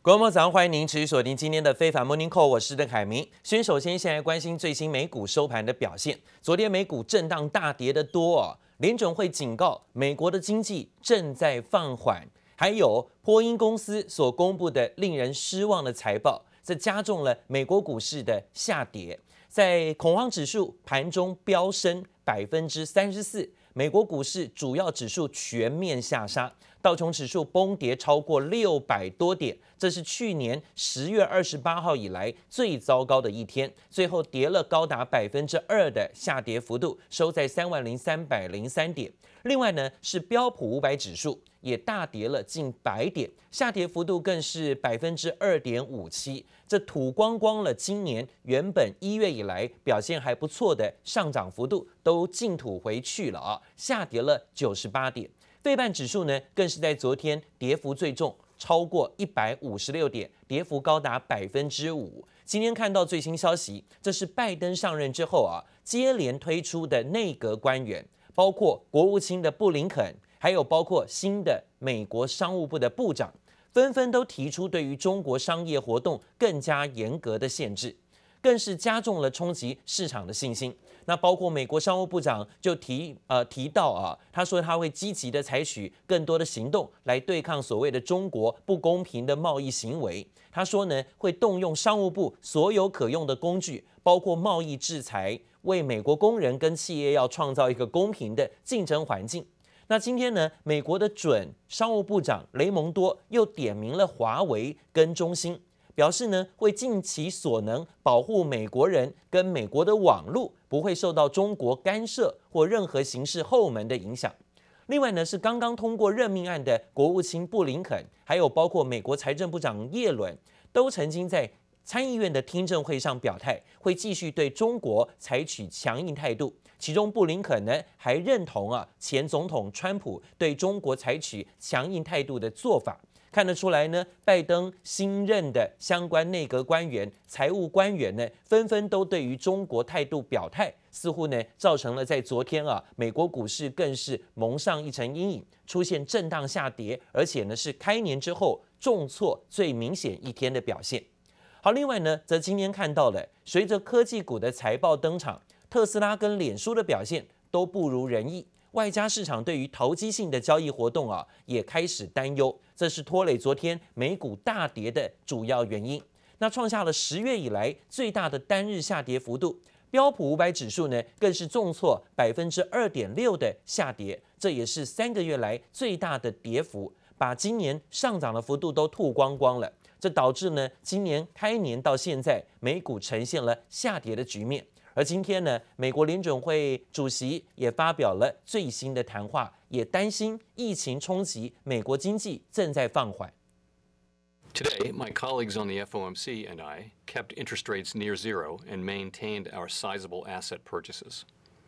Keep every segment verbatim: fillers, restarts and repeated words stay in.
各位朋友，早上歡迎您持續鎖定今天的非凡 Morning Call， 我是鄧凱明。先首先先來關心最新美股收盤的表現。昨天美股震盪大跌的多哦，聯準會警告美國的經濟正在放緩，還有波音公司所公布的令人失望的財報，這加重了美國股市的下跌。在恐慌指數盤中飆升百分之三十四，美國股市主要指數全面下殺，道瓊指數崩跌超過六百多點，這是去年十月二十八號以來最糟糕的一天，最後跌了高達百分之二的下跌幅度，收在三萬零三百零三點。另外呢，是標普五百指數也大跌了近百點，下跌幅度更是百分之二點五七，這吐光光了今年原本一月以來表現還不錯的上漲幅度，都淨吐回去了啊，下跌了九十八點。費半指數呢，更是在昨天跌幅最重，超過一百五十六點，跌幅高達百分之五。今天看到最新消息，這是拜登上任之後啊，接連推出的內閣官員，包括國務卿的布林肯，還有包括新的美國商務部的部長，紛紛都提出對於中國商業活動更加嚴格的限制，更是加重了衝擊市場的信心。那包括美國商務部長就提呃提到啊，他說他會積極的採取更多的行動來對抗所謂的中國不公平的貿易行為。他說呢，會動用商務部所有可用的工具，包括貿易制裁，為美國工人跟企業要創造一個公平的競爭環境。那今天呢，美國的準商務部長雷蒙多又點名了華為跟中興，表示呢，會盡其所能保護美國人跟美國的網絡不會受到中國干涉或任何形式後門的影響。另外呢，是剛剛通過任命案的國務卿布林肯，還有包括美國財政部長耶倫，都曾經在參議院的聽證會上表態，會繼續對中國採取強硬態度。其中布林肯呢還認同啊前總統川普對中國採取強硬態度的做法。看得出來呢，拜登新任的相關內閣官員、財務官員呢，紛紛都對於中國態度表態，似乎呢造成了在昨天啊，美國股市更是蒙上一層陰影，出現震盪下跌，而且呢是開年之後重挫最明顯一天的表現。好，另外呢，則今天看到了，隨着科技股的財報登場，特斯拉跟臉書的表現都不如人意。外加市場對於投機性的交易活動啊，也開始擔憂，這是拖累昨天美股大跌的主要原因。那創下了十月以來最大的單日下跌幅度，標普五百指數呢更是重挫百分之二點六的下跌，這也是三個月來最大的跌幅，把今年上漲的幅度都吐光光了。這導致呢，今年開年到現在美股呈現了下跌的局面。而今天呢，美國聯準會主席也發表了最新的談話，也擔心疫情衝擊美國經濟正在放緩。 Today, my colleagues on the F O M C and I kept interest rates near zero and maintained our sizable asset purchases.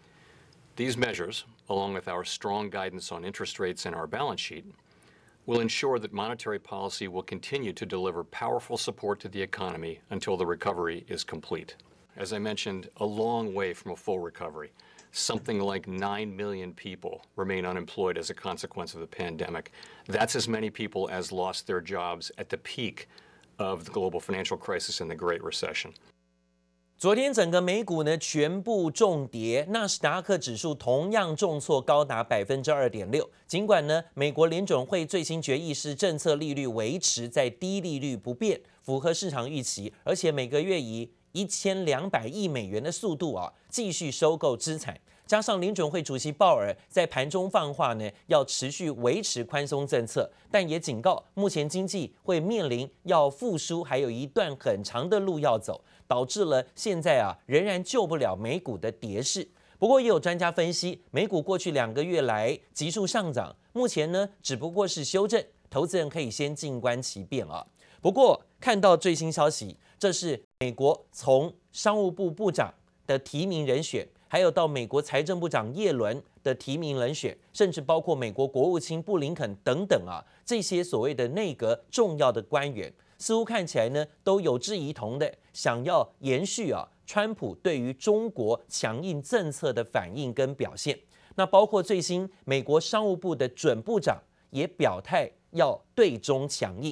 These measures, along with our strong guidance on interest rates and our balance sheet, will ensure that monetary policy will continue to deliver powerful support to the economy until the recovery is complete. As I mentioned, a long way from a full recovery. Something like nine million people remain unemployed as a consequence of the pandemic. That's as many people as lost their jobs at the peak of the global financial crisis and the Great Recession. 昨天整個美股呢全部重跌，納斯達克指數同樣重挫高達百分之二點六。儘管呢，美國聯準會最新決議是政策利率維持在低利率不變，符合市場預期，而且每個月以一千兩百億美元的速度啊，繼續收購資產，加上聯準會主席鮑爾在盤中放話呢，要持續維持寬鬆政策，但也警告目前經濟會面臨要復甦，還有一段很長的路要走，導致了現在啊仍然救不了美股的跌勢。不過也有專家分析，美股過去兩個月來急速上漲，目前呢只不過是修正，投資人可以先靜觀其變啊。不過看到最新消息，這是美國從商務部部長的提名人選，還有到美國財政部長耶倫的提名人選，甚至包括美國國務卿布林肯等等啊，這些所謂的內閣重要的官員，似乎看起來呢都有志一同的想要延續啊川普對於中國強硬政策的反應跟表現。那包括最新美國商務部的準部長也表態要對中強硬。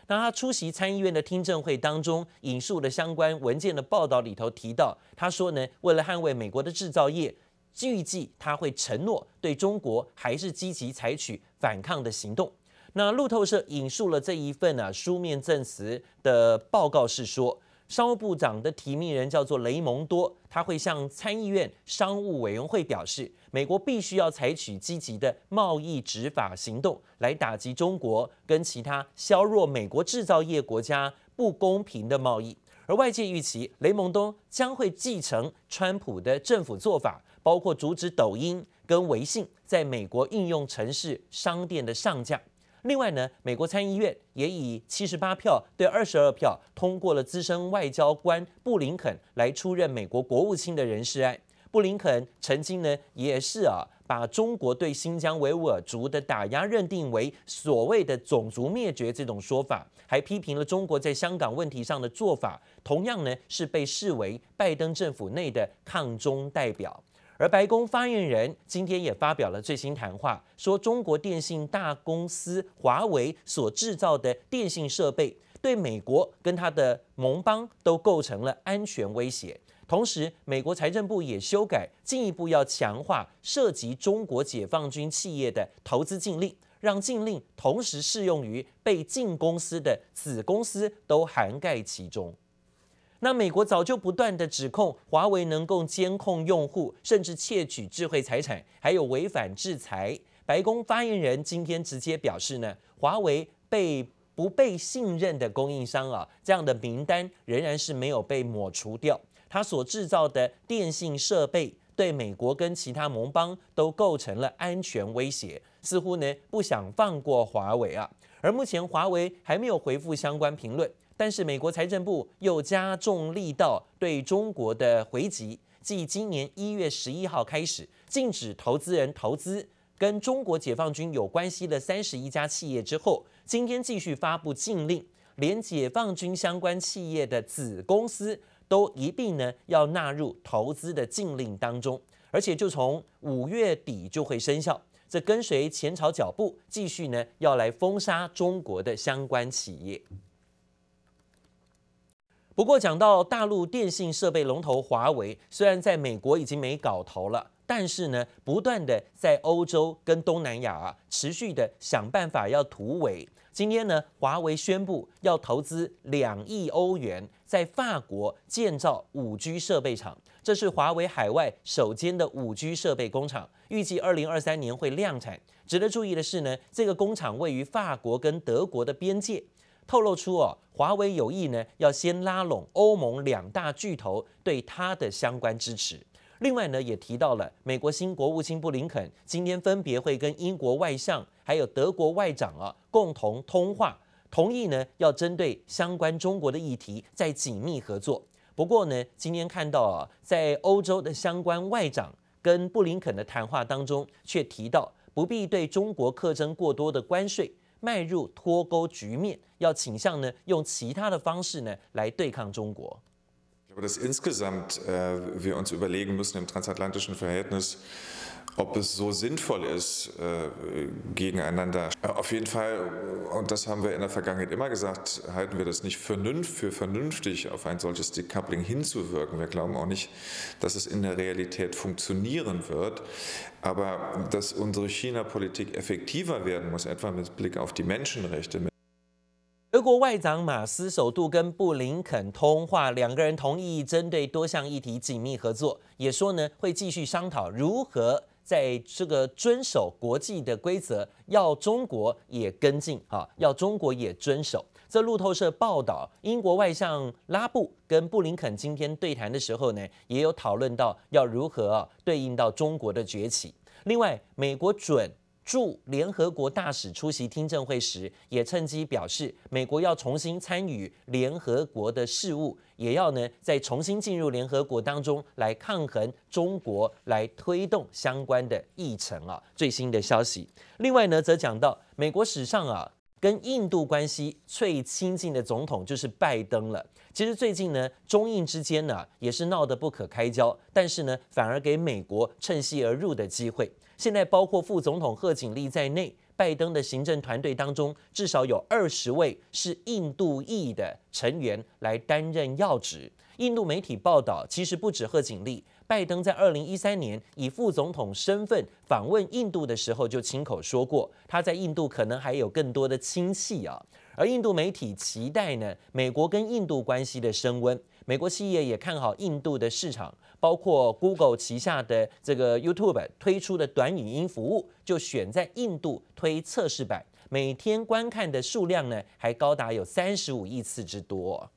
那他出席參議院的聽證會當中，引述了相關文件的報道裡頭提到，他說呢，為了捍衛美國的製造業，預計他會承諾對中國還是積極採取反抗的行動。那路透社引述了這一份啊書面證詞的報告是說，商務部長的提名人叫做雷蒙多，他會向參議院商務委員會表示，美國必須要採取積極的貿易執法行動，來打擊中國跟其他削弱美國製造業國家不公平的貿易。而外界預期，雷蒙多將會繼承川普的政府做法，包括阻止抖音跟微信在美國應用程式商店的上架。另外呢，美國參議院也以七十八票對二十二票通過了資深外交官布林肯來出任美國國務卿的人事案。布林肯曾經呢也是啊把中國對新疆維吾爾族的打壓認定為所謂的種族滅絕這種說法，還批評了中國在香港問題上的做法，同樣呢是被視為拜登政府內的抗中代表。而白宮發言人今天也發表了最新談話，說中國電信大公司華為所製造的電信設備對美國跟它的盟邦都構成了安全威脅。同時，美國財政部也修改，進一步要強化涉及中國解放軍企業的投資禁令，讓禁令同時適用於被禁公司的子公司都涵蓋其中。那美國早就不斷的指控華為能夠監控用戶，甚至竊取智慧財產，還有違反制裁。白宮發言人今天直接表示呢，華為被不被信任的供應商啊，這樣的名單仍然是沒有被抹除掉。他所製造的電信設備對美國跟其他盟邦都構成了安全威脅，似乎呢不想放過華為啊。而目前華為還沒有回復相關評論。但是美國財政部又加重力道對中國的回擊，繼今年一月十一號開始禁止投資人投資跟中國解放軍有關係的三十一家企業之後，今天繼續發布禁令，連解放軍相關企業的子公司都一併呢要納入投資的禁令當中，而且就從五月底就會生效。這跟隨前朝腳步，繼續呢要來封殺中國的相關企業。不過，講到大陸電信設備龍頭華為，雖然在美國已經沒搞頭了，但是呢，不斷的在歐洲跟東南亞啊，持續的想辦法要突圍。今天呢，華為宣布要投資兩億歐元，在法國建造五 G 設備廠，這是華為海外首間的五 G 設備工廠，預計二零二三年會量產。值得注意的是呢，這個工廠位於法國跟德國的邊界。透露出哦，華為有意呢要先拉攏歐盟兩大巨頭對它的相關支持。另外呢，也提到了美國新國務卿布林肯今天分別會跟英國外相還有德國外長啊共同通話，同意呢要針對相關中國的議題再緊密合作。不過呢，今天看到啊，在歐洲的相關外長跟布林肯的談話當中，卻提到不必對中國課徵過多的關稅。邁入脫鈎局面，要傾向呢用其他的方式呢來對抗中國。 Ich glaube, dass insgesamt äh, wir uns überlegen müssen im transatlantischen Verhältnis, ob es so sinnvoll ist, äh, gegeneinander. Auf jeden Fall, und das haben wir in der Vergangenheit immer gesagt, halten wir das nicht für vernünftig, auf ein solches Decoupling hinzuwirken. Wir glauben auch nicht, dass es in der Realität funktionieren wird. Aber dass unsere China-Politik effektiver werden muss, etwa mit Blick auf die Menschenrechte. 德國外長馬斯首度跟布林肯通話，兩個人同意針對多項議題緊密合作，也說呢會繼續商討如何在這個遵守國際的規則，要中國也跟進啊，要中國也遵守。這路透社報道，英國外相拉布跟布林肯今天對談的時候呢，也有討論到要如何啊對應到中國的崛起。另外，美國準駐聯合國大使出席聽證會時，也趁機表示，美國要重新參與聯合國的事務，也要呢再重新進入聯合國當中來抗衡中國，來推動相關的議程啊。最新的消息。另外呢，則講到美國史上啊跟印度關係最親近的總統就是拜登了。其實最近呢，中印之間呢也是鬧得不可開交，但是呢，反而給美國趁虛而入的機會。現在包括副總統賀錦麗在內， 拜登的行政團隊當中至少有二十位是印度裔的成員來擔任要職。印度媒體報道，其實不止賀錦麗，拜登在二零一三年以副總統身份訪問印度的時候，就親口說過，他在印度可能還有更多的親戚啊。而印度媒體期待呢，美國跟印度關係的升溫。美國企業也看好印度的市場，包括 Google 旗下的這個 YouTube 推出的短語音服務，就選在印度推測試版，每天觀看的數量呢，還高達有三十五億次之多。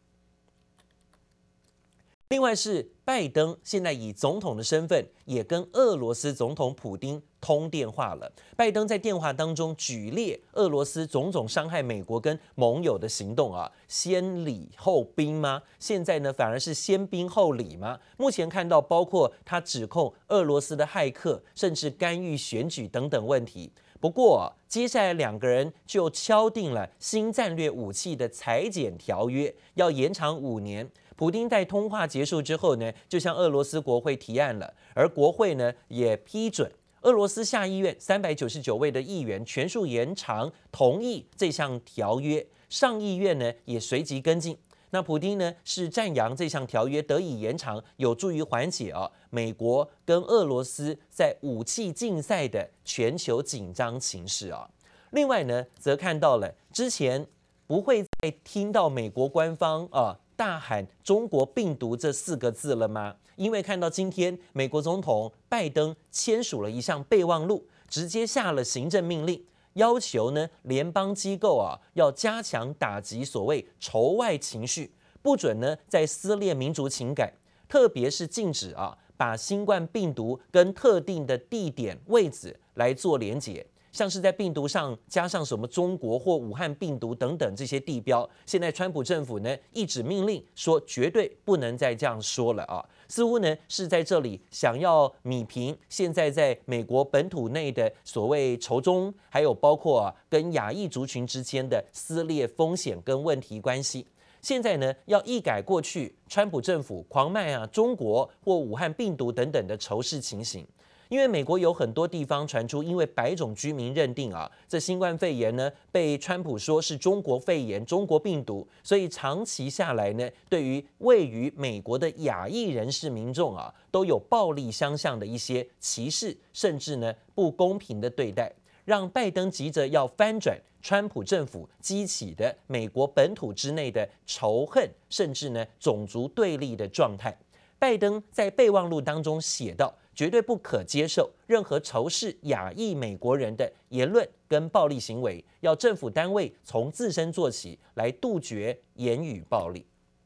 另外是拜登現在以總統的身份，也跟俄羅斯總統普丁通電話了。拜登在電話當中舉列俄羅斯種種傷害美國跟盟友的行動啊，先禮後兵嗎？現在呢反而是先兵後禮嗎？目前看到包括他指控俄羅斯的駭客，甚至干預選舉等等問題。不過接下來兩個人就敲定了新戰略武器的裁減條約，要延長五年。普丁在通話結束之後呢，就向俄羅斯國會提案了，而國會呢也批准。俄羅斯下議院三百九十九位的議員全數延長同意這項條約，上議院呢也隨即跟進。那普丁呢是讚揚這項條約得以延長，有助於緩解啊美國跟俄羅斯在武器競賽的全球緊張情勢啊。另外呢，則看到了之前不會再聽到美國官方啊大喊“中國病毒”這四個字了嗎？因為看到今天美國總統拜登簽署了一項備忘錄，直接下了行政命令，要求呢聯邦機構啊要加強打擊所謂仇外情緒，不准呢再撕裂民族情感，特別是禁止啊把新冠病毒跟特定的地點位置來做連結。像是在病毒上加上什麼中國或武漢病毒等等這些地標，現在川普政府呢一紙命令說絕對不能再這樣說了啊，似乎呢是在這裡想要弭平現在在美國本土內的所謂仇中，還有包括啊跟亞裔族群之間的撕裂風險跟問題關係。現在呢要一改過去川普政府狂賣啊中國或武漢病毒等等的仇視情形。因為美國有很多地方傳出，因為白種居民認定啊，這新冠肺炎呢被川普說是中國肺炎、中國病毒，所以長期下來呢，對於位於美國的亞裔人士民眾啊，都有暴力相向的一些歧視，甚至呢不公平的對待，讓拜登急着要翻轉川普政府激起的美國本土之內的仇恨，甚至呢種族對立的狀態。拜登在備忘錄當中寫道，絕對不可接受任何仇視亞裔美國人的言論跟暴力行為，要政府單位從自身做起，來杜絕言語暴力。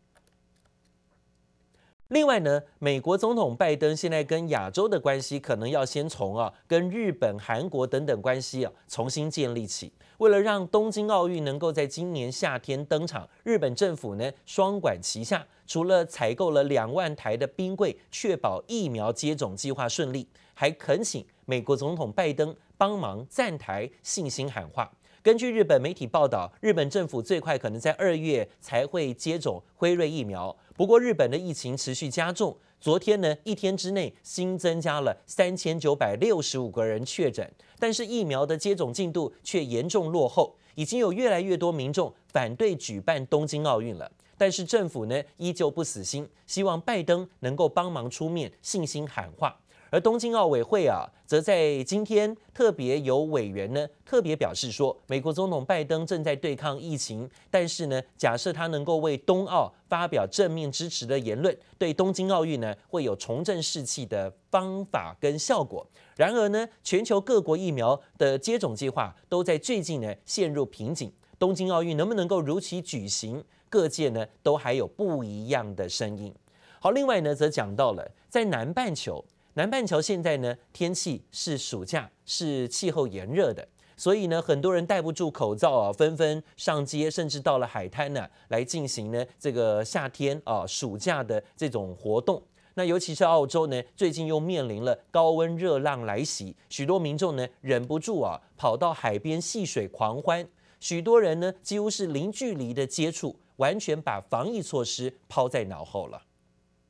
另外呢，美國總統拜登現在跟亞洲的關係，可能要先從啊跟日本、韓國等等關係啊重新建立起。為了讓東京奧運能夠在今年夏天登場，日本政府呢雙管齊下，除了採購了兩萬台的冰櫃，確保疫苗接種計劃順利，還懇請美國總統拜登幫忙站台信心喊話。根據日本媒體報道，日本政府最快可能在二月才會接種輝瑞疫苗。不過，日本的疫情持續加重，昨天呢一天之內新增加了三千九百六十五個人確診，但是疫苗的接種進度卻嚴重落後，已經有越來越多民眾反對舉辦東京奧運了。但是政府呢依舊不死心，希望拜登能夠幫忙出面信心喊話。而東京奧委會啊，則在今天特別有委員呢特別表示說，美國總統拜登正在對抗疫情，但是呢，假設他能夠為東奧發表正面支持的言論，對東京奧運呢會有重振士氣的方法跟效果。然而呢，全球各國疫苗的接種計劃都在最近呢陷入瓶頸，東京奧運能不能夠如期舉行，各界呢都還有不一樣的聲音。好，另外呢，則講到了在南半球。南半球現在呢，天氣是暑假，是氣候炎熱的，所以呢，很多人戴不住口罩啊，紛紛上街，甚至到了海灘呢，來進行呢這個夏天啊暑假的這種活動。那尤其是澳洲呢，最近又面臨了高溫熱浪來襲，許多民眾呢忍不住啊，跑到海邊戲水狂歡，許多人呢幾乎是零距離的接觸，完全把防疫措施拋在腦後了。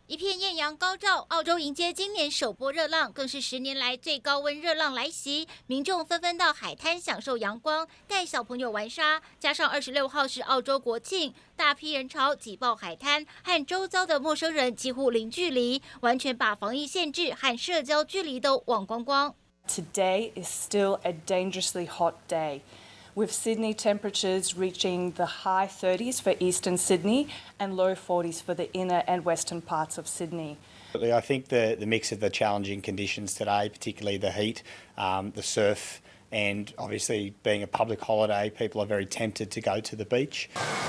一片豔陽高照，澳洲迎接今年首波熱浪，更是十年來最高溫熱浪來襲，民眾紛紛到海灘享受陽光，帶小朋友玩沙。加上二十六號是澳洲國慶，大批人潮擠爆海灘，和周遭的陌生人幾乎零距離，完全把防疫限制和社交距離都忘光光。 Today is still a dangerously hot day, with Sydney temperatures reaching the high thirties for eastern Sydney and low forties for the inner and western parts of Sydney. I think the, the mix of the challenging conditions today, particularly the heat, um, the surf, and obviously being a public holiday, people are very tempted to go to the beach.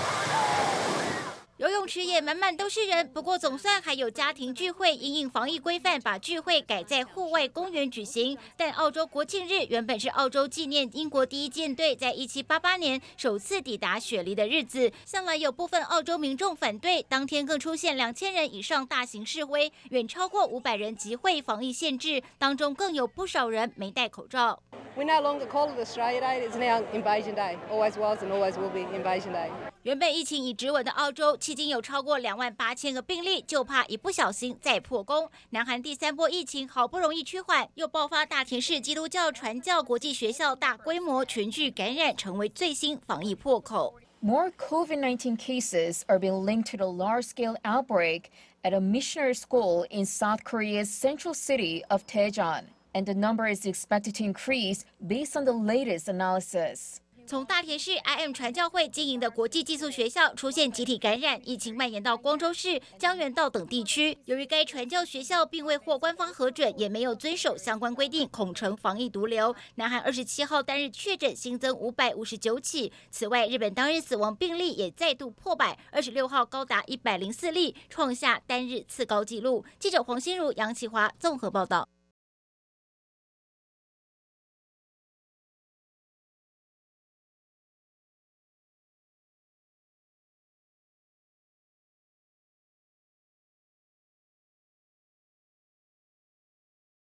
游泳池也滿滿都是人，不過總算還有家庭聚會，因應防疫規範，把聚會改在戶外公園舉行。但澳洲國慶日原本是澳洲紀念英國第一艦隊在一七八八年首次抵達雪梨的日子，向來有部分澳洲民眾反對，當天更出現兩千人以上大型示威，遠超過五百人集會，防疫限制，當中更有不少人沒戴口罩。 We no longer call it Australia Day, it's now Invasion Day. Always was and always will be Invasion Day. 原本疫情已止穩的澳洲，迄今有超過兩萬八千個病例，就怕一不小心再破功。南韓第三波疫情好不容易趨緩，又爆發大田市基督教傳教國際學校大規模群聚感染，成為最新防疫破口。 More COVID nineteen cases are being linked to the large-scale outbreak at a missionary school in South Korea's central city of Daejeon, and the number is expected to increase based on the latest analysis. 從大田市 I M 傳教會經營的國際寄宿學校出現集體感染，疫情蔓延到光州市、江原道等地區。由於該傳教學校並未獲官方核准，也沒有遵守相關規定，恐成防疫毒瘤。南韓二十七號單日確診新增五百五十九起。此外，日本當日死亡病例也再度破百，二十六號高達一百零四例，創下單日次高紀錄。記者黃心如、楊啟華綜合報道。